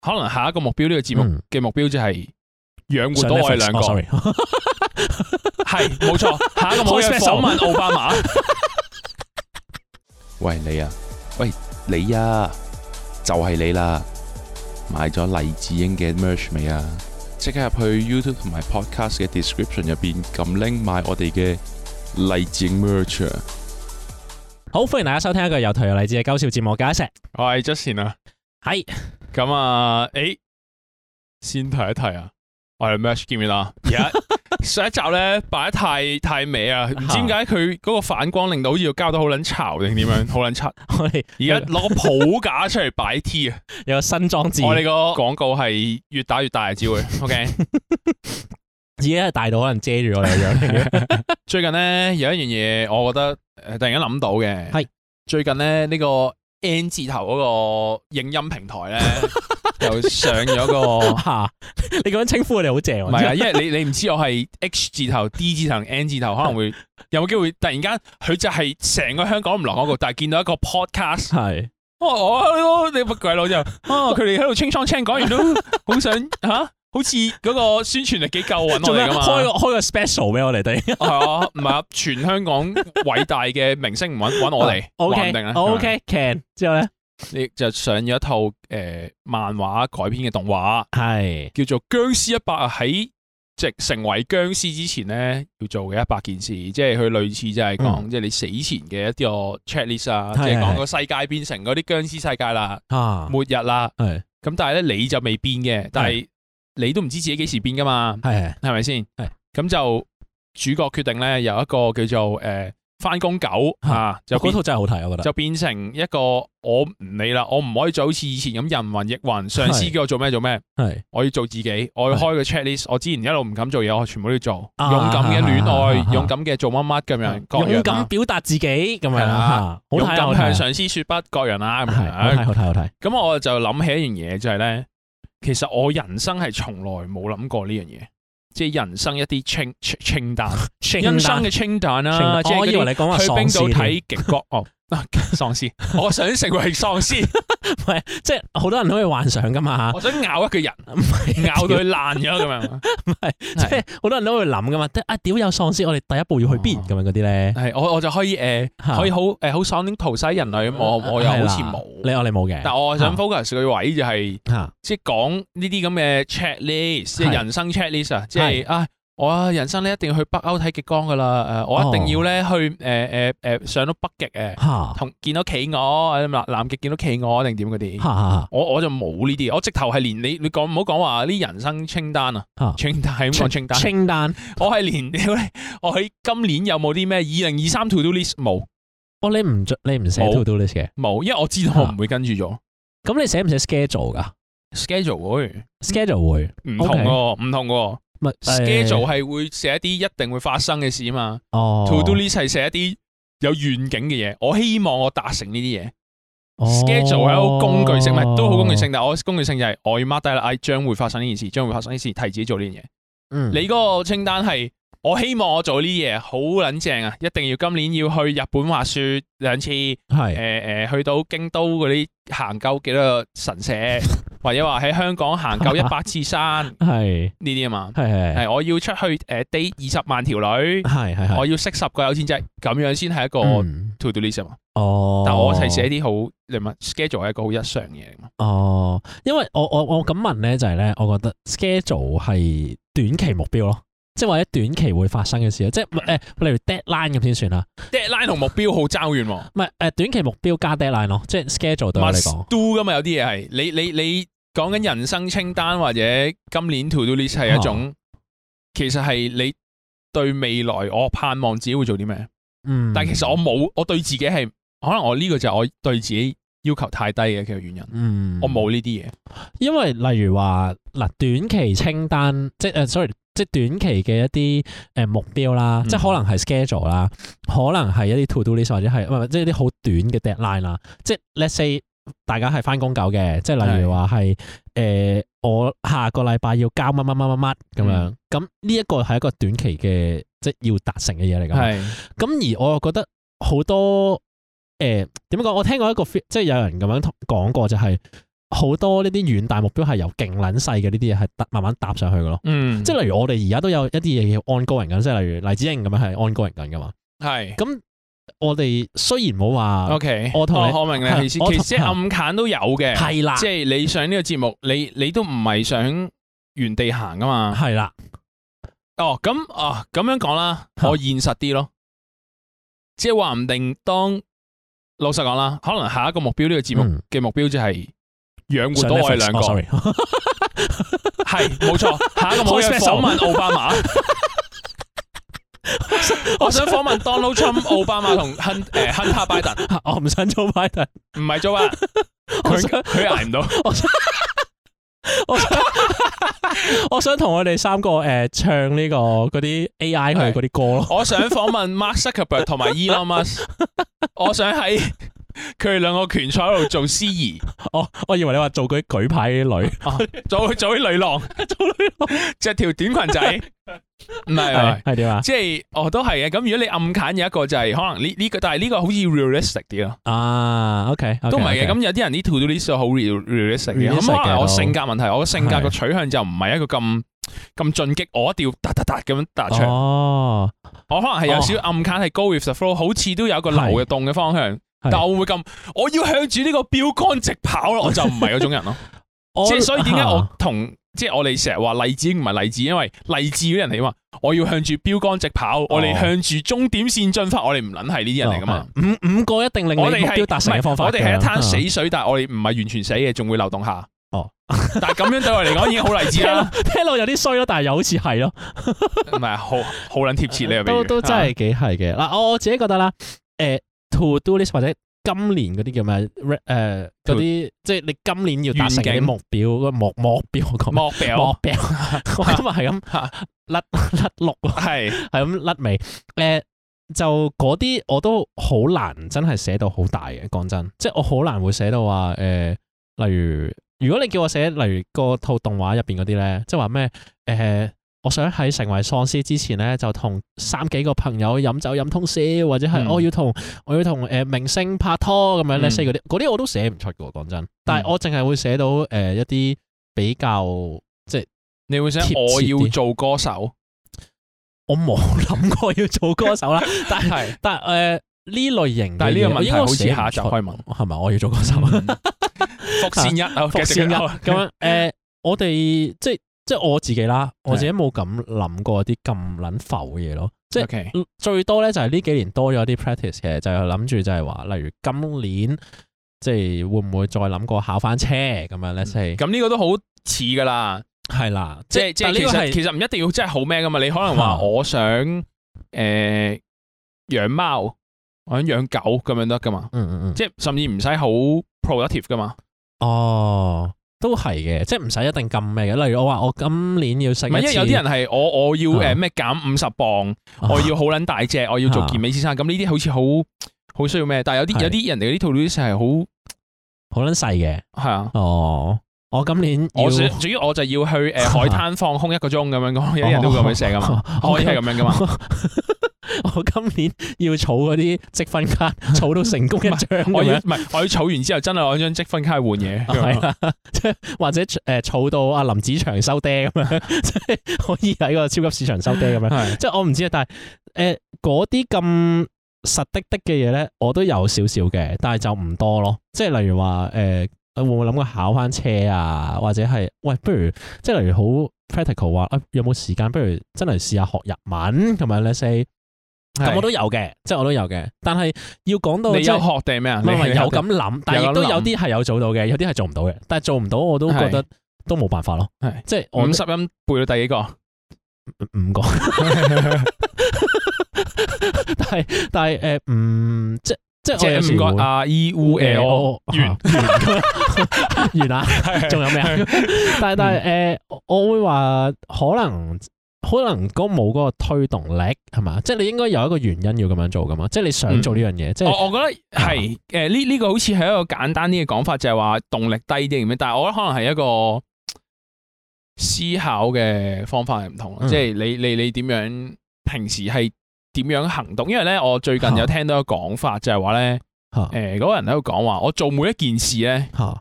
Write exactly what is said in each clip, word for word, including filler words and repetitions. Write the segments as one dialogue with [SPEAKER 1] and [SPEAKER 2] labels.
[SPEAKER 1] 可能下一個目標呢、這個節目嘅目標就係養活到我哋兩個。
[SPEAKER 2] 哦、sorry，
[SPEAKER 1] 係冇錯。下一個目標係訪問奧巴馬。
[SPEAKER 3] 喂你啊，喂你啊，就係、是、你啦！買咗黎智英嘅 merch 未啊？即刻入去 YouTube 同埋 Podcast 嘅 description 入邊撳 link 買我哋嘅黎智英 merch 啊！
[SPEAKER 2] 好，歡迎大家收聽一個有台有勵志嘅搞笑節目，加一石。
[SPEAKER 1] 我係 Justin 啊，
[SPEAKER 2] 係
[SPEAKER 1] 咁啊，誒，先提一提啊，我哋 merch 見唔見啊？而家上一集咧擺得太太美啊，唔知點解佢嗰個反光令到好似要交得好撚潮定點樣，好撚柒。
[SPEAKER 2] 我哋
[SPEAKER 1] 而家攞個抱架出嚟擺 T 啊，
[SPEAKER 2] 有個新裝置。
[SPEAKER 1] 我哋個廣告係越打越大嘅，只會 OK。
[SPEAKER 2] 自己係大到可能遮住我哋個樣。
[SPEAKER 1] 最近咧有一樣嘢，我覺得誒突然間諗到嘅
[SPEAKER 2] 係
[SPEAKER 1] 最近咧呢個 N 字頭嗰個影音平台咧又上咗個
[SPEAKER 2] 嚇，你咁樣稱呼我哋好正喎。
[SPEAKER 1] 唔係啊，因為你你唔知我係 H 字頭、D 字頭、N 字頭，可能會有冇機會突然間佢就係成個香港唔落廣告，但係見到一個 podcast
[SPEAKER 2] 係。
[SPEAKER 1] 哦，我你乜鬼佬就啊，佢哋喺度清倉清講完都好想嚇。好似嗰個宣傳力幾夠揾我哋噶嘛？
[SPEAKER 2] 開個開個 special 俾我哋哋。
[SPEAKER 1] 係啊，唔係啊，全香港偉大嘅明星唔揾揾我哋，話唔定啊。
[SPEAKER 2] O K can 之後咧，
[SPEAKER 1] 你就上咗一套誒、呃、漫畫改編嘅動畫，係叫做《僵屍一百》啊。喺即成為僵屍之前咧，要做嘅一百件事，即係佢類似就係講，嗯、即係你死前嘅一啲個 checklist 啊，即係講個世界變成嗰啲僵屍世界啦，啊、末日啦。係咁，但係咧你就未變嘅，但係。你都唔知自己幾時變噶嘛？係係咪先？係咁就主角決定咧，有一個叫做誒翻工狗啊，就嗰套真係好睇，我覺得就變成一個我唔理啦，我唔可以再好似以前咁人云亦云，上司叫我做咩做咩，係我要做自己，我要開個 checklist，我之前一路唔敢做嘢，我全部都要做，勇敢嘅戀愛，勇敢嘅做乜乜咁樣，
[SPEAKER 2] 勇敢表達自己咁樣啦，
[SPEAKER 1] 勇敢向上司說不，各人啦，咁樣
[SPEAKER 2] 好睇好睇好睇。咁
[SPEAKER 1] 我就諗起一樣嘢，就係咧。其實我人生係從來冇諗過呢樣嘢，即係人生一啲清清單，人生嘅清單啦。
[SPEAKER 2] 我以為你講話喪屍，
[SPEAKER 1] 去冰島睇極光哦，喪屍，我想成為喪屍，
[SPEAKER 2] 唔係即係好多人都可以幻想噶嘛。
[SPEAKER 1] 我想咬一個人，咬到佢爛咗咁樣，
[SPEAKER 2] 唔係即係好多人都會諗噶嘛。啊屌有喪屍，我哋第一步要去邊咁樣嗰啲咧？係
[SPEAKER 1] 我我就可以誒，可以好誒好爽啲屠殺人類咁，我我又好似冇，
[SPEAKER 2] 你我哋冇嘅。
[SPEAKER 1] 但我想 focus 嘅位就係，即係講呢啲咁嘅 checklist，即係人生 checklist 啊，即係啊。我人生咧一定要去北歐睇極光噶啦，誒，我一定要咧去誒誒誒上到北極誒，同見到企鵝，南南極見到企鵝定點嗰啲，我我就冇呢啲，我直頭係連你你講唔好講話啲人生清單啊，清單係咁講清單，
[SPEAKER 2] 清單，
[SPEAKER 1] 我係連我喺今年有冇啲咩二零二三 to do list 冇，
[SPEAKER 2] 哦你唔你唔寫 to do list 嘅，
[SPEAKER 1] 冇，因為我知道我唔會跟住咗，
[SPEAKER 2] 咁你寫唔寫 schedule 噶
[SPEAKER 1] ？schedule 會
[SPEAKER 2] ，schedule 會，
[SPEAKER 1] 唔同喎，唔同喎。schedule 係會寫一啲一定會發生嘅事啊嘛，哦，to do list 係寫一啲有願景嘅嘢，我希望我達成呢啲嘢。哦、schedule 係一個工具性，唔係都好工具性，但係我工具性就係我要 mark 低啦，哎，將會發生呢件事，將會發生呢件事，提自己做呢樣嘢。嗯，你嗰個清單係我希望我做呢啲嘢好撚正啊，一定要今年要去日本滑雪兩次，係誒誒去到京都嗰啲行夠幾多個神社。或者話喺香港行夠一百次山，係呢啲啊嘛，係係係我要出去誒 date 二十萬條女，係係我要識十個有錢仔，咁樣先係一個 to do list 啊嘛。哦，但我係寫啲好你問 schedule 係一個好日常嘅嘢嘛。哦，
[SPEAKER 2] 因為我我我咁問咧就係咧，我覺得 schedule 係短期目標咯，即係或者短期會發生嘅事，即係誒例如 deadline 咁先算啦。
[SPEAKER 1] deadline 同目標好爭遠喎。
[SPEAKER 2] 唔係誒短期目標加 deadline 咯，即係 schedule 對我嚟講。
[SPEAKER 1] do 噶嘛，有啲嘢係你你你講緊人生清單或者今年 to do list 係一種，啊、其實係你對未來我盼望自己會做啲咩。嗯，但係其實我冇，我對自己係可能我呢個就係我對自己要求太低嘅其實原因。嗯，我冇呢啲嘢，
[SPEAKER 2] 因為例如話嗱短期清單，即係誒 sorry。即係短期嘅一啲誒目標啦，嗯、即係可能係 schedule 啦，可能係一啲 to do list 或者係唔係即係啲好短嘅 deadline 啦。即係 let's say 大家係翻工狗嘅，即係例如話係誒我下個禮拜要交乜乜乜乜乜咁樣，咁呢一個係一個短期嘅即係要達成嘅嘢嚟㗎。係咁而我又覺得好多誒點講？我聽過一個即係有人咁樣講過就係、是。 好多呢啲遠大目標係由勁撚細嘅呢啲嘢係慢慢搭上去嘅咯。
[SPEAKER 1] 嗯，
[SPEAKER 2] 即係例如我哋而家都有一啲嘢叫 ongoing 緊，即係例如黎智英咁樣係 ongoing 緊噶嘛。
[SPEAKER 1] 係。
[SPEAKER 2] 咁我哋雖然冇話
[SPEAKER 1] ，OK，
[SPEAKER 2] 我同你
[SPEAKER 1] 我明你意思，其實即係暗砍都有嘅。
[SPEAKER 2] 係啦，
[SPEAKER 1] 即係你上呢個節目，你你都唔係想原地行噶嘛。
[SPEAKER 2] 係啦。
[SPEAKER 1] 哦，咁哦咁樣講啦，我現實啲咯。即係話唔定當老實講啦，可能下一個目標呢個節目嘅目標就係養活到我哋兩個。係冇錯，下一個目標係訪問奧巴馬。我想訪問 Donald Trump、奧巴馬同亨誒亨特拜登。
[SPEAKER 2] 我唔想做拜登，
[SPEAKER 1] 唔係做啊，佢佢捱唔到。
[SPEAKER 2] 我想我想同我哋三個誒、呃、唱呢、這個嗰啲 A I 佢嗰啲歌咯。
[SPEAKER 1] 我想訪問 Mark Zuckerberg 同埋 Elon Musk。我想喺佢哋兩個拳賽嗰度做司儀。
[SPEAKER 2] 我我以為你話做嗰啲舉牌啲女，
[SPEAKER 1] 啊、做做啲女郎，做女郎，着條短裙仔。唔係
[SPEAKER 2] 係點啊？
[SPEAKER 1] 即係哦，都係嘅。咁如果你暗砍有一個就係可能呢呢個，但係呢個好似 realistic 啲咯。
[SPEAKER 2] 啊 ，OK，, okay
[SPEAKER 1] 都唔係嘅。咁 okay. 有啲人啲 to do list 好 realistic 嘅。咁可能我性格問題，我嘅性格個取向就唔係一個咁咁進擊，我一定要突突突咁樣突出。哦，我可能係有少少暗砍係 go with the flow，好似都有一個流嘅動嘅方向，但我會唔會咁？我要向住呢個標杆直跑咯，我就唔係嗰種人咯。即係所以點解我同？即係我哋成日話勵志唔係勵志，因為勵志嗰啲人嚟嘛，我要向住標杆直跑，哦、我哋向住終點線進發，我哋唔撚係呢啲人嚟噶嘛。五
[SPEAKER 2] 五個一定令你目標達成嘅方法。
[SPEAKER 1] 我哋係一灘死水，但係我哋唔係完全死嘅，仲會流動下。哦，但係咁樣對我嚟講已經好勵志啦。聽落有啲衰咯，但係又好似係咯。唔係，好好撚貼切呢個比喻。
[SPEAKER 2] 都都真係幾係嘅。嗱，我我自己覺得啦，誒 to do list 或者。今年嗰啲叫咩？誒、呃，嗰啲即係你今年要達成嘅目標，個目目標我講
[SPEAKER 1] 目標
[SPEAKER 2] 目標，我今日係咁甩甩碌，係係咁甩尾。誒、呃，就嗰啲我都好難真係寫到好大嘅，講真，即係我好難會寫到話誒、呃，例如如果你叫我寫，例如個套動畫入邊嗰啲咧，即係話咩誒？呃我想喺成為喪屍之前咧，就同三幾個朋友飲酒飲通宵，或者係我要同我要同誒明星拍拖咁樣咧，四嗰啲嗰啲我都寫唔出嘅，講真。但係我淨係會寫到誒、呃、一啲比較即係
[SPEAKER 1] 你會想我要做歌手，
[SPEAKER 2] 我冇諗過要做歌手啦。但係但係誒呢類型，
[SPEAKER 1] 但係呢個問題好似下集開問
[SPEAKER 2] 係咪？我要做歌手？
[SPEAKER 1] 伏線一，伏線一
[SPEAKER 2] 咁樣誒，我哋即係。即係我自己啦，我自己冇咁諗過啲咁撚浮嘅嘢咯。即係
[SPEAKER 1] Okay.
[SPEAKER 2] 最多咧就係呢幾年多咗啲 practice 嘅，就係諗住就係話，例如今年即係會唔會再諗過考翻車咁樣咧？即係咁
[SPEAKER 1] 呢個都好似噶啦，
[SPEAKER 2] 係啦，
[SPEAKER 1] 即係即係其實其實唔一定要真係好咩噶嘛。你可能話我想誒養貓，我想養狗咁樣得噶嘛。嗯嗯嗯，即係甚至唔使好 productive 噶嘛。
[SPEAKER 2] 哦。都係嘅，即係唔使一定咁咩嘅。例如我話我今年要食，唔係因為
[SPEAKER 1] 有啲人係我我要誒咩減五十磅，啊、我要好撚大隻，我要做健美先生。咁呢啲好似好好需要咩？但係有啲有啲人哋嗰啲 to do list 係好
[SPEAKER 2] 好撚細嘅。係啊。哦，我今年
[SPEAKER 1] 我主要我就要去誒海灘放空一個鐘咁樣講，有啲人都會咁樣寫噶嘛，可以係咁樣噶嘛。
[SPEAKER 2] 我今年要儲嗰啲積分卡，儲到成功一張。
[SPEAKER 1] 我要唔係，我要儲完之後真係攞張積分卡去換嘢。係啦，即係或者誒儲到阿林子祥收爹咁樣，即係可以喺個超級市場收爹咁樣。即係我唔知啊，但係誒嗰啲咁實的的嘅嘢咧，我都有少少嘅，但係就唔多咯。即係例如話誒、呃，會唔會諗過考翻車啊？或者係喂，不如即係例如好 practical 話，啊有冇時間？不如真係試下學日文咁樣咧 say。咁我都有嘅，即係我都有嘅，但係要講到你有學定咩啊？
[SPEAKER 2] 唔係有咁諗，但係亦都有啲係有做到嘅，有啲係做唔到嘅。但係做唔到我都覺得都冇辦法咯。係即係
[SPEAKER 1] 五十音背到第幾個？
[SPEAKER 2] 五個。但係但係誒，嗯，即即係我有五個 R E U L 完完啦，仲有咩啊？但係但係誒，我會話可能。可能嗰冇嗰個推動力係嘛，即係你應該有一個原因要咁樣做噶嘛，即係你想做呢樣嘢。即係我我覺得係誒呢呢個好似係一個簡單啲嘅講法，就係話動力低啲咁樣。但係我覺得可能係一個思考嘅方法係唔同，嗯、即係你你你點樣平時係點樣行動？因為咧，我最近有聽到一個講法，就係話咧，誒嗰個人喺度講話，我做每一件事咧，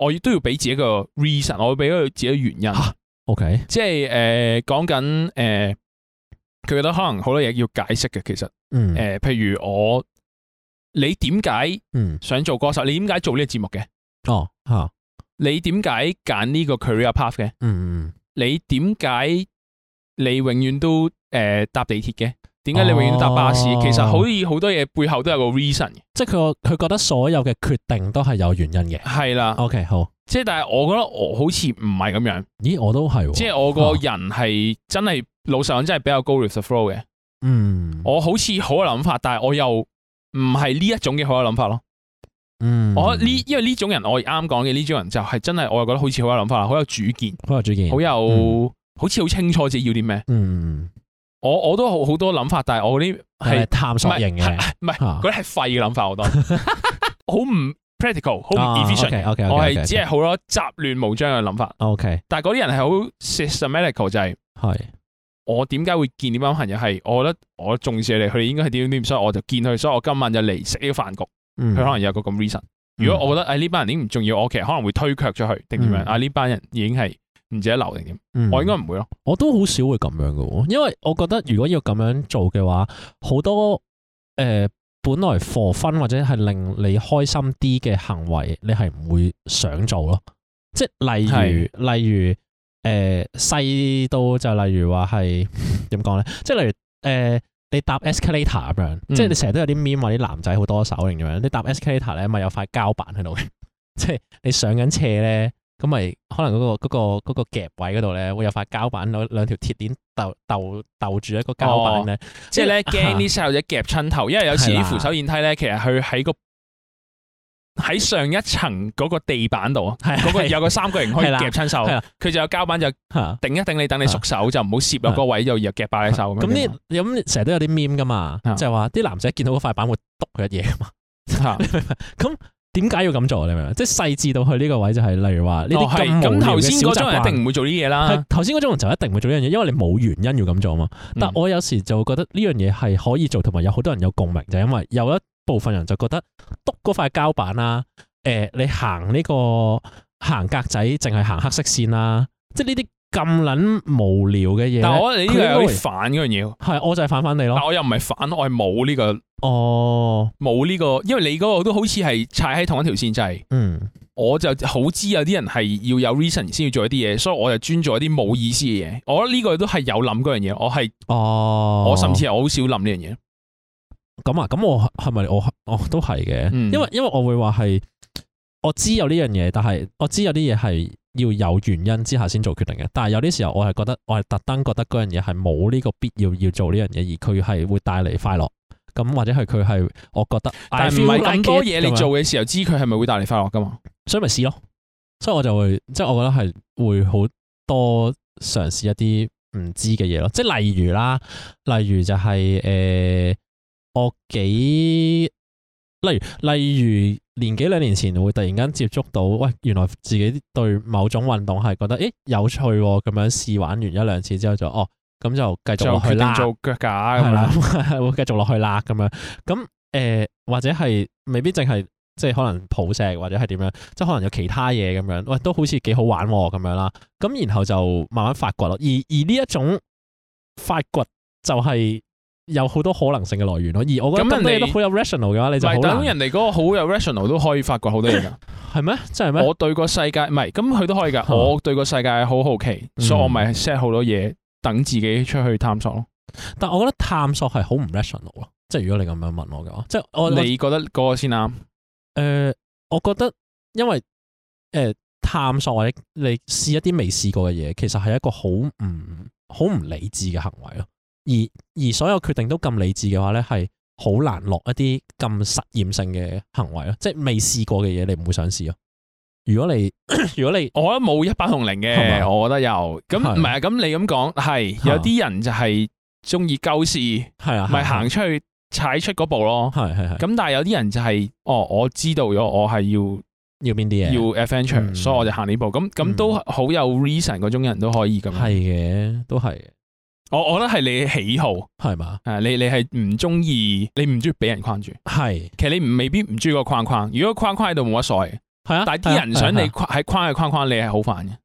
[SPEAKER 1] 我都要俾自己一個 reason，我會俾佢自己原因。
[SPEAKER 2] OK，
[SPEAKER 1] 即係誒講緊誒，佢、呃、覺得可能好多嘢要解釋嘅，其實誒、
[SPEAKER 2] 嗯
[SPEAKER 1] 呃，譬如我你點解想做歌手？你點解做呢個節目嘅？
[SPEAKER 2] 哦吓，
[SPEAKER 1] 你點解揀呢個 career path 嘅？
[SPEAKER 2] 嗯嗯，
[SPEAKER 1] 你點解你永遠都誒、呃、搭地鐵嘅？點解你永遠都搭巴士？
[SPEAKER 2] 哦、
[SPEAKER 1] 其實好似好多嘢背後都有個 reason 嘅，
[SPEAKER 2] 即係佢佢覺得所有嘅決定都係有原因嘅。
[SPEAKER 1] 係啦。
[SPEAKER 2] OK， 好。
[SPEAKER 1] 即係但係我覺得我好似唔係咁樣。
[SPEAKER 2] 咦，我都係、哦。
[SPEAKER 1] 即係我個人係真係、啊、老實講真係比較 go with the flow 嘅。
[SPEAKER 2] 嗯。
[SPEAKER 1] 我好似好有諗法，但係我又唔係呢一種嘅好有諗法咯。
[SPEAKER 2] 嗯。
[SPEAKER 1] 我呢因為呢種人我啱講嘅呢種人就係真係我又覺得好似好有諗法，好有主見，
[SPEAKER 2] 好有主見，
[SPEAKER 1] 好有、嗯、好似好清楚自己要啲咩。
[SPEAKER 2] 嗯。
[SPEAKER 1] 我我都好好多諗法，但係我嗰啲係
[SPEAKER 2] 探索型嘅，
[SPEAKER 1] 唔係嗰啲係廢嘅諗法，好多好唔 practical， 好唔 efficient。
[SPEAKER 2] 啊、okay, okay, okay,
[SPEAKER 1] 我係只係好多雜亂無章嘅諗法。
[SPEAKER 2] OK，
[SPEAKER 1] 但係嗰啲人係好 systematical， 就係
[SPEAKER 2] 係
[SPEAKER 1] 我點解會見呢班朋友係，我覺得我重視佢哋，佢哋應該係點點點，所以我就見佢，所以我今晚就嚟食呢個飯局。佢、嗯、可能有個咁 reason。如果我覺得誒呢班人已經唔重要，我其實可能會推卻咗佢定點樣啊？呢班人已經係唔值得留定點？嗯、我應該唔會咯。
[SPEAKER 2] 我都好少會咁樣嘅，因為我覺得如果要咁樣做嘅話，好多誒、呃、本來 for fun 或者係令你開心啲嘅行為，你係唔會想做咯。即係例如例如誒細、呃、到就例如話係點講咧？即係例如誒、呃、你搭 escalator 咁樣，嗯、即係你成日都有啲 meme 話啲男仔好多手型咁樣。你搭 escalator 咧，咪有塊膠板喺度嘅，即係你上緊斜咧。咁咪可能嗰、嗰個嗰、嗰個嗰個夾位嗰度咧，會有塊膠板，兩兩條鐵鏈鬥鬥鬥住一個膠板咧、哦，
[SPEAKER 1] 即係咧驚啲細路仔夾親頭，因為有時啲扶手電梯咧，其實佢喺個喺上一層嗰個地板度，嗰個有個三角形可以夾親手，佢就有膠板就頂一頂你，等你縮手就唔好攝落個位，就又夾爆你手咁。咁啲咁成日都有啲 meme 噶嘛，就係話啲男仔見到嗰塊板會篤佢一嘢噶嘛，咁。點解要咁做？你明唔明？即係細緻到去呢個位就係，例如話呢啲咁無聊嘅小習慣。咁頭先嗰種人一定唔會做呢啲嘢啦。頭先嗰種人就一定唔會做呢樣嘢，因為你冇原因要咁做嘛。但我有時就覺得呢樣嘢係可以做，同埋有好多人有共鳴，就係因為有一部分人就覺得篤嗰塊膠板啦，誒，你行呢個行格仔，淨係行黑色線啦，即係呢啲咁撚無聊嘅嘢。但係我哋呢個有啲反嗰樣嘢。係，我就係反反你咯。但我又唔係反，我係冇呢個。哦，冇呢、這個，因為你嗰個都好似係踩喺同一條線，就係、是，嗯，我就好知有啲人係要有 reason 先要做一啲嘢，所以我就專做一啲冇意思嘅嘢。我覺得呢個都係有諗嗰樣嘢，我係，哦，我甚至係好少諗呢樣嘢。咁啊，咁我係咪我我都係嘅、嗯？因為因為我會話係，我知有呢樣嘢，但係我知有啲嘢係要有原因之下先做決定嘅。但係有啲時候我係覺得，我係特登覺得嗰樣嘢係冇呢個必要要做呢樣嘢，而佢係會帶嚟快樂。咁或者係佢係，我覺得，但係唔係咁多嘢你做嘅時候，知佢係咪會帶嚟快樂噶嘛？所以咪試咯。所以我就會，即係我覺得係會好多嘗試一啲唔知嘅嘢咯。即係例如啦，例如就係、是、誒、呃，我幾，例如例如年幾兩年前會突然間接觸到，喂，原來自己對某種運動係覺得，誒有趣喎，咁樣試玩完一兩次之後就，哦。咁就繼續落去啦，做腳架係啦，會繼續落去啦咁樣。咁誒、呃，或者係未必淨係即係可能抱石或者係點樣，即係可能有其他嘢咁樣。喂，都好似幾好玩咁樣啦。咁然後就慢慢發掘咯。而而呢一種發掘就係有好多可能性嘅來源咯。而我覺得咁人哋都好有 rational 嘅話，你就好難。等人哋嗰個好有 rational 都可以發掘好多嘢噶。係咩？真係咩？我對個世界唔係，咁佢都可以噶。我對個世界好好奇，嗯、所以我咪 set 好多嘢。等自己出去探索咯，但係我覺得探索係好唔 rational 咯，即係如果你咁樣問我嘅話，即係我你覺得嗰個先啱？誒、呃，我覺得因為誒、呃、探索或者你試一啲未試過嘅嘢，其實係一個好唔好唔理智嘅行為咯。而而所有決定都咁理智嘅話咧，係好難落一啲咁實驗性嘅行為咯。即係未試過嘅嘢，你唔會想試咯。如果你如果你，我覺得冇一百同零嘅，我覺得有咁唔係啊。咁你咁講係有啲人就係中意鳩試，係啊，咪行出去踩出嗰步咯。係係係。咁但係有啲人就係、是、哦，我知道咗我係要要邊啲嘢，要 adventure，、嗯、所以我就行呢步。咁咁都好有 reason 嗰種人都可以咁。係嘅，都係。我我覺得係你喜好係嘛？誒，你你係唔中意，你唔中意俾人框住。係，其實你唔未必唔中意個框框。如果框框喺度冇乜所謂。
[SPEAKER 2] 係啊，
[SPEAKER 1] 但係啲人想你喺框嘅框框，你係好煩嘅。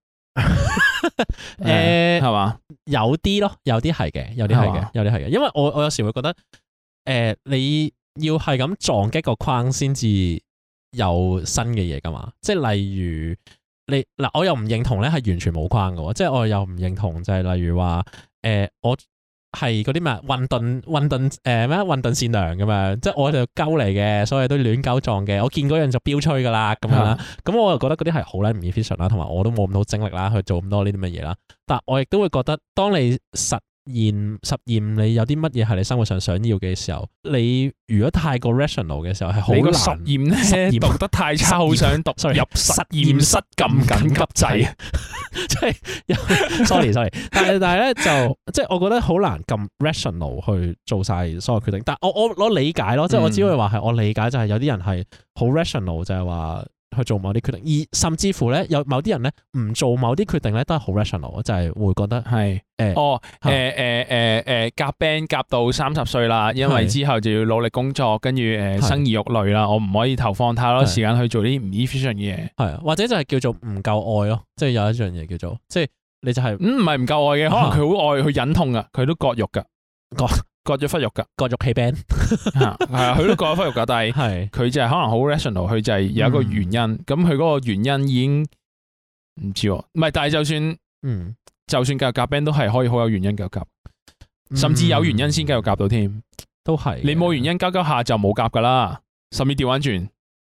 [SPEAKER 1] 誒，係嘛？
[SPEAKER 2] 有啲咯，有啲係嘅，有啲係嘅，有啲係嘅。因為我我有時會覺得，誒，你要係咁撞擊個框先至有新嘅嘢噶嘛？即係例如你嗱，我又唔認同咧係完全冇框嘅喎，即係我又唔認同就係例如話，誒，我。係嗰啲咩混沌混沌誒咩混沌善良咁樣，即係我就鳩嚟嘅，所以都亂鳩撞嘅。我見嗰樣就標吹噶啦，咁樣啦。咁、嗯、我又覺得嗰啲係好撚唔 efficient 啦，同埋我都冇咁多精力啦去做咁多呢啲乜嘢啦。但我亦都會覺得，當你實驗實驗你有啲乜嘢係你生活上想要嘅時候，你如果太過 rational 嘅時候係好難。
[SPEAKER 1] 實驗咧讀得太差，好想讀入實驗室撳緊急掣。
[SPEAKER 2] 即係，sorry sorry，但係但係咧就即係我覺得好難咁 rational 去做晒所有決定。但係我我我理解咯，即係我只可以話係我理解就係有啲人係好 rational，就係話去做某啲決定，而甚至乎咧有某啲人咧唔做某啲決定咧都係好 rational，就係會覺得係誒
[SPEAKER 1] 哦誒誒誒誒夾 band 夾到三十歲啦，因為之後就要努力工作，跟住誒生兒育女啦，我唔可以投放太多時間去做啲唔 efficient 嘅嘢，
[SPEAKER 2] 係或者就係叫做唔夠愛咯，即係有一樣嘢叫做即係你就係
[SPEAKER 1] 唔係唔夠愛嘅，可能佢好愛去忍痛噶，佢都割肉噶，割割咗忽肉噶，
[SPEAKER 2] 割肉氣 band
[SPEAKER 1] 係啊，佢都割咗忽肉噶，但係佢就係可能好 rational，佢就係有一個原因，咁佢嗰個原因已經唔知喎，唔係，但係就算嗯，就算繼續夾 band 都係可以好有原因繼續夾，甚至有原因先繼續夾到添，
[SPEAKER 2] 都係
[SPEAKER 1] 你冇原因交交下就冇夾噶啦，甚至調翻轉。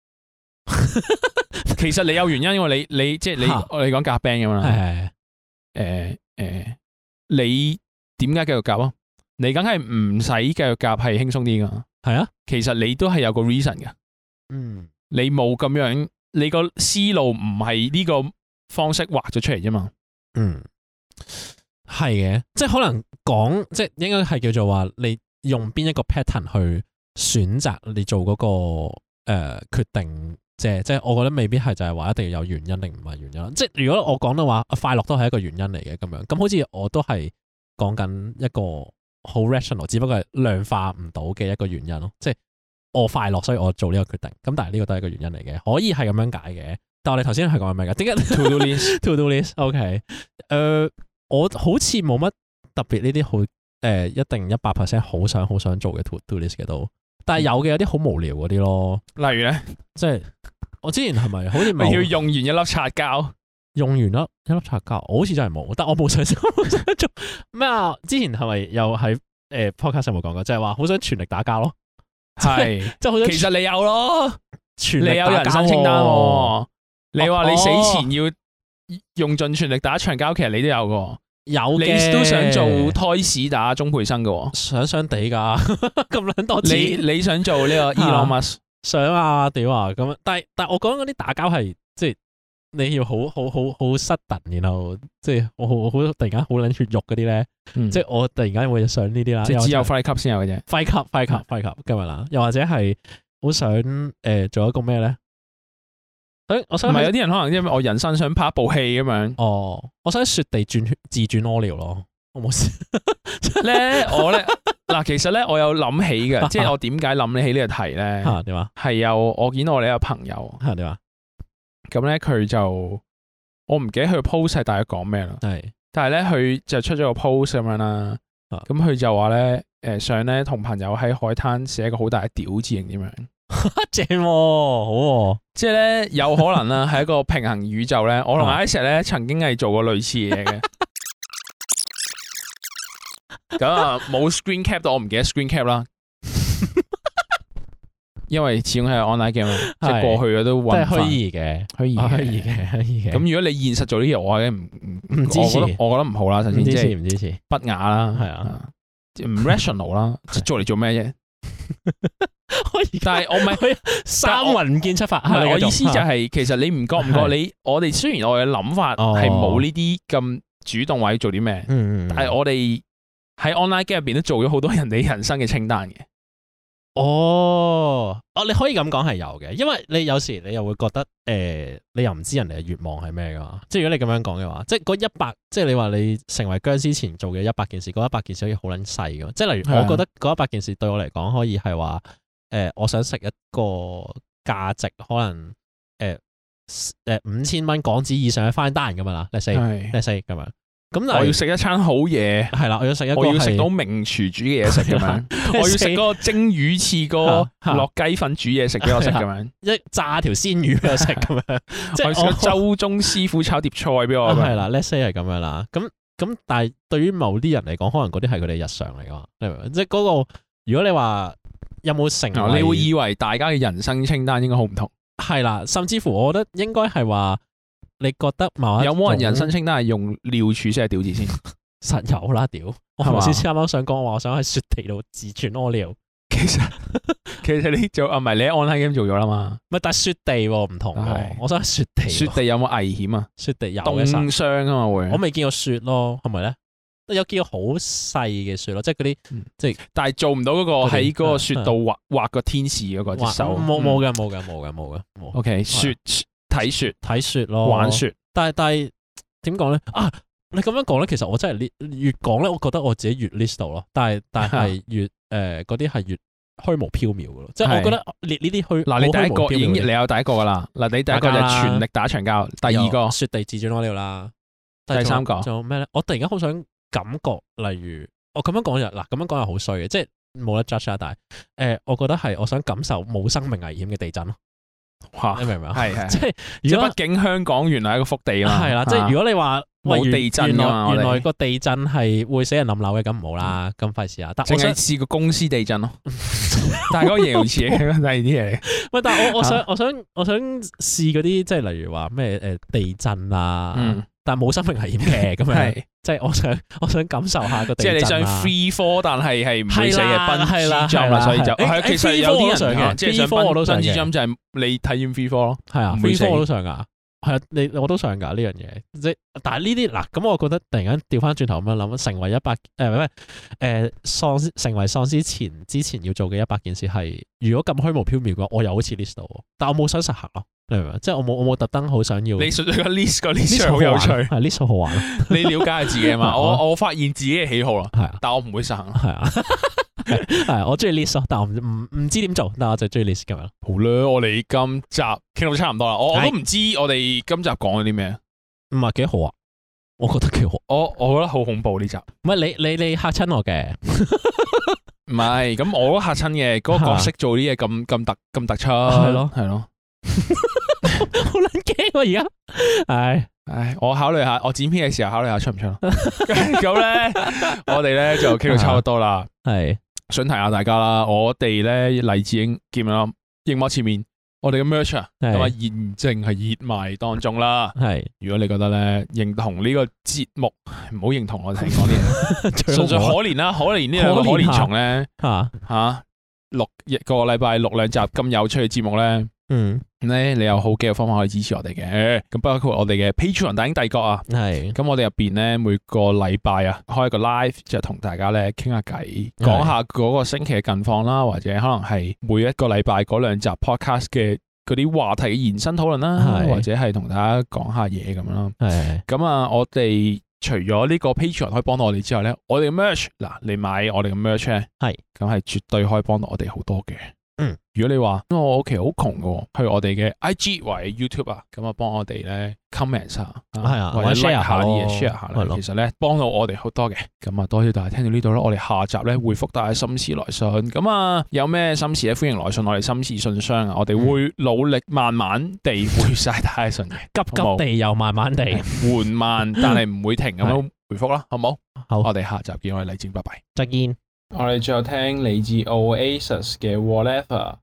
[SPEAKER 1] 其實你有原因，因為你你即係你我哋講夾 band 咁啦，係誒誒，你點解繼續夾啊？你梗係唔使繼續夾，係輕鬆啲噶。係啊，其實你都係有個 reason 噶。嗯，你冇咁樣，你個思路唔係呢個方式畫咗出嚟啫嘛。嗯，係嘅，即係可能講，即係應該係叫做話，你用邊一個 pattern 去選擇你做嗰、那個誒、呃、決定。即係即係，我覺得未必係就係話一定要有原因定唔係原因。即係如果我講到話快樂都係一個原因嚟嘅咁樣，咁好似我都係講緊一個好 rational，只不過係量化唔到嘅一個原因咯。即係我快樂，所以我做呢個決定。咁但係呢個都係一個原因嚟嘅，可以係咁樣解嘅。但係我哋頭先係講緊咩㗎？點解 to do list to do list？OK， 誒、呃，我好似冇乜特別呢啲好誒，一定一百 percent 好想好想做嘅 to do list 嘅都。但係有嘅有啲好無聊嗰啲咯，例如咧，即係我之前係咪好似咪要用完一粒擦膠，用完一一粒擦膠，我好似真係冇，但我冇想做咩啊？之前係咪又喺誒 podcast 有冇講過，就係話好想全力打交咯，係即係好想，其實你有咯，全力打交，你有人生清單喎，你話你死前要用盡全力打一場交，其實你都有個。有嘅，你都想做胎屎打鍾培生嘅，想想地噶，咁撚多錢。你你想做呢個 Elon Musk？想啊，屌啊，咁但係但係我講嗰啲打交係即係你要好好好好 sudden，然後即係我好好突然間好撚血肉嗰啲咧，即係我突然間會想呢啲啦。即係只有 Fight Club 先有嘅啫，Fight Club，Fight Club，Fight Club 今日啦，又或者係好想誒做一個咩咧？誒，我想唔係有啲人可能因為我人生想拍一部戲咁樣。哦，我想喺雪地轉自轉屙尿咯，我冇事咧。我咧嗱，其實咧我有諗起嘅，即係我點解諗起呢個題咧？吓點啊？係有我見到我哋一個朋友吓點啊？咁咧佢就我唔記得佢 post 係大概講咩啦。係，但係咧佢就出咗個 post 咁樣啦。咁佢就話咧，誒想咧同朋友喺海灘寫一個好大嘅屌字形點樣？正喎、哦，好喎、哦，即係咧有可能啦，係一個平衡宇宙咧。我同 Isaac 咧曾經係做過類似嘢嘅，咁啊冇 screen cap 到，我唔記得 screen cap 啦，因為始終係 online game，即係過去嘅都混翻，虛擬嘅，虛擬虛擬嘅，虛擬嘅。咁如果你現實做呢啲嘢，我係唔唔唔支持，我覺得唔好啦。首先即係唔支持，不雅啦，係啊，唔 rational 啦，做嚟做咩啫？但係我唔係三魂唔見七法，係我意思就係，其實你唔覺唔覺你我哋雖然我嘅諗法係冇呢啲咁主動或者做啲咩，但係我哋喺 online game 入邊都做咗好多人哋人生嘅清單嘅。哦，哦，你可以咁講係有嘅，因為你有時你又會覺得誒，你又唔知人哋嘅願望係咩噶嘛。即係如果你咁樣講嘅話，即係嗰一百，即係你話你成為僵屍前做嘅一百件事，嗰一百件事可以好撚細噶。即係例如，我覺得嗰一百件事對我嚟講可以係話。誒、呃，我想食一個價值可能誒
[SPEAKER 2] 誒五千蚊港紙以上嘅 fine dine 咁樣啦，let's say，let's say 咁樣。咁
[SPEAKER 1] 我要食一餐好嘢，
[SPEAKER 2] 係啦，我要食一個，
[SPEAKER 1] 我要食到名廚煮嘅嘢食咁樣，我要食嗰個蒸魚翅個落雞粉煮嘢食俾我食咁樣，
[SPEAKER 2] 一炸條鮮魚俾我食咁樣，即係
[SPEAKER 1] 我食個周中師傅炒碟菜俾我。
[SPEAKER 2] 係啦 ，let's say 係咁樣啦。咁咁，但係對於某啲人嚟講，可能嗰啲係佢哋日常嚟㗎，你明唔明？即係嗰個，如果你話有冇成為，
[SPEAKER 1] 你會以為大家嘅人生清單應該好唔同。
[SPEAKER 2] 係啦，甚至乎我覺得應該係話。你覺得某一種有冇人
[SPEAKER 1] 人生清單係用廖柱先係屌字先？
[SPEAKER 2] 實有啦，屌！我頭先啱啱想講話，我想喺雪地度自轉屙尿。
[SPEAKER 1] 其實其實你做啊，唔係你喺 online game 做咗啦嘛？
[SPEAKER 2] 唔係，但係雪地唔同。我想喺雪地。雪
[SPEAKER 1] 地有冇危險啊？
[SPEAKER 2] 雪地有
[SPEAKER 1] 凍傷啊嘛會。
[SPEAKER 2] 我未見過雪咯，係咪咧？有見過好細嘅雪咯，即係嗰啲即係，
[SPEAKER 1] 但係做唔到嗰個喺嗰個雪度畫畫個天使嗰個隻手。
[SPEAKER 2] 冇冇嘅，冇嘅，冇嘅，冇嘅。
[SPEAKER 1] OK， 雪。睇雪
[SPEAKER 2] 睇雪咯，
[SPEAKER 1] 玩雪，
[SPEAKER 2] 但係但係點講咧？啊，你咁樣講咧，其實我真係越講咧，我覺得我自己越 list 到咯。但係但係越誒嗰啲係越虛無縹緲嘅咯。即係我覺得列呢啲虛
[SPEAKER 1] 嗱，你第一個已經你有第一個噶啦。嗱，你第一個就全力打長交，第二個
[SPEAKER 2] 雪地自轉屙尿啦，
[SPEAKER 1] 第三個
[SPEAKER 2] 仲有咩咧？我突然間好想感覺，例如我咁樣講又嗱，咁樣講又好衰嘅，即係冇得 judge 啊。但係誒，我覺得係我想感受冇生命危險嘅地震咯。
[SPEAKER 1] 哇！
[SPEAKER 2] 你明唔明啊？
[SPEAKER 1] 係係，
[SPEAKER 2] 即係
[SPEAKER 1] 如果畢竟香港原來係一個福地啦，
[SPEAKER 2] 係啦，即係如果你話
[SPEAKER 1] 冇地震
[SPEAKER 2] 原來
[SPEAKER 1] 原
[SPEAKER 2] 來個地震係會死人冧樓嘅，咁唔好啦，咁費事啊！但
[SPEAKER 1] 我想試過公司地震咯，但係嗰個形容詞嚟嘅，第二啲嘢。
[SPEAKER 2] 喂，但係我我想我想我想試嗰啲，即係例如話咩誒地震啊，但係冇生命危險嘅咁樣，即係我想我想感受下個地震。
[SPEAKER 1] 即係你想 free fall，但係係唔會死嘅奔馳 jump 啦，所以就係其實有啲人想嘅，即係想奔奔馳 jump 就係你體驗 free fall 咯，
[SPEAKER 2] 係啊，free fall 我都想噶，係啊，你我都想噶呢樣嘢，即係但係呢啲嗱，咁我覺得突然間調翻轉頭咁樣諗，成為一百誒唔係誒喪成為喪屍前之前要做嘅一百件事係，如果咁虛無縹緲嘅話，我又好似 list 到，但我冇想實行咯。你明唔明？即係我冇我冇特登好想要。
[SPEAKER 1] 你純粹個 list 個 list 好有趣，
[SPEAKER 2] 係 list 好好玩。
[SPEAKER 1] 你了解下自己啊嘛？我我發現自己嘅喜好啦，係啊，但我唔會實行。
[SPEAKER 2] 係啊，係我中意 list 咯，但我唔唔唔知點做，但我就中意 list 咁樣。
[SPEAKER 1] 好啦，我哋今集傾到差唔多啦，我我都唔知我哋今集講咗啲咩，
[SPEAKER 2] 唔係幾好啊？我覺得幾好。
[SPEAKER 1] 我我覺得好恐怖呢集。
[SPEAKER 2] 唔係你你你嚇親我嘅。
[SPEAKER 1] 唔係，咁我都嚇親嘅。嗰個角色做啲嘢咁咁突咁突出，係
[SPEAKER 2] 咯
[SPEAKER 1] 係咯。
[SPEAKER 2] 好撚驚喎！而家，唉
[SPEAKER 1] 唉，我考慮下，我剪片嘅時候考慮下出唔出咯。咁咧，我哋咧就傾到差唔多啦。係，想提下大家啦，我哋咧黎智英見啦，熒幕前面我哋嘅 merch 啊，咁啊現正係熱賣當中啦。係，如果你覺得咧認同呢個節目，唔好認同我哋講啲嘢，純粹可憐啦，可憐呢兩個可憐蟲咧，吓吓錄一個禮拜錄兩集咁有趣嘅節目咧。嗯，咧你有好幾個方法可以支持我哋嘅，咁包括我哋嘅 Patreon 大鷹帝國啊，係，咁我哋入邊咧每個禮拜啊開一個 live 就同大家咧傾下偈，講下嗰個星期嘅近況啦，或者可能係每一個禮拜嗰兩集 podcast 嘅嗰啲話題嘅延伸討論啦，或者係同大家講下嘢咁樣咯。係，咁啊我哋除咗呢個 Patreon 可以幫到我哋之外咧，我哋嘅 merch 嗱，你買我哋嘅 merch 咧，係，咁係絕對可以幫到我哋好多嘅。嗯，如果你話我屋企好窮嘅，去我哋嘅 I G 或者 YouTube 啊，咁啊幫我哋咧 comment 下，係啊，或者 share 下啲嘢 share 下啦，其實咧幫到我哋好多嘅。咁啊，多謝大家聽到呢度啦，我哋下集咧回覆大家心事來信。咁啊，有咩心事咧，歡迎來信我哋心事信箱啊，我哋會努力慢慢地回晒大家信嘅，
[SPEAKER 2] 急急地又慢慢地，
[SPEAKER 1] 緩慢但係唔會停咁樣回覆啦，好唔好？好，我哋下集見，我哋黎智英，拜拜，
[SPEAKER 2] 再見。
[SPEAKER 1] 我哋最後聽嚟自 Oasis 嘅 Whatever。